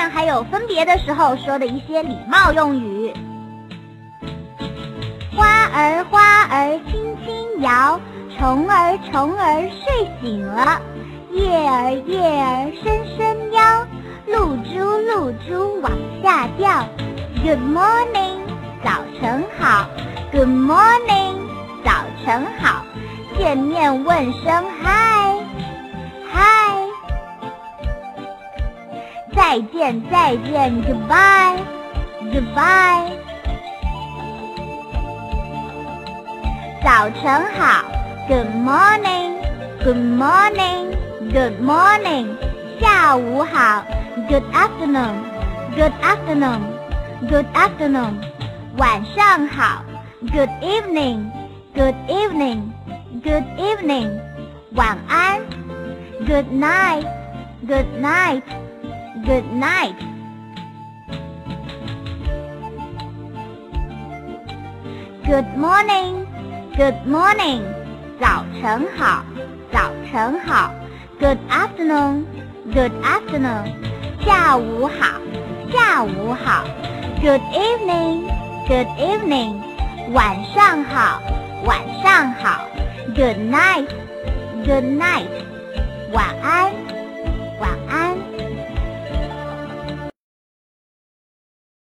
面还有分别的时候说的一些礼貌用语。花儿花儿轻轻摇，虫儿虫儿睡醒了，叶儿叶儿伸伸腰，露珠露珠往下掉。Good morning， 早晨好。Good morning， 早晨好。见面问声嗨嗨。再见再见 Goodbye Goodbye。早晨好 Good morning Good morning Good morning。 下午好 Good afternoon Good afternoon Good afternoon。 晚上好 Good evening Good evening Good evening。 晚安 Good night Good night Good night。 Good morning Good morning， 早晨好，早晨好。Good afternoon Good afternoon， 下午好，下午好。Good evening Good evening， 晚上好，晚上好。Good night Good night， 晚安。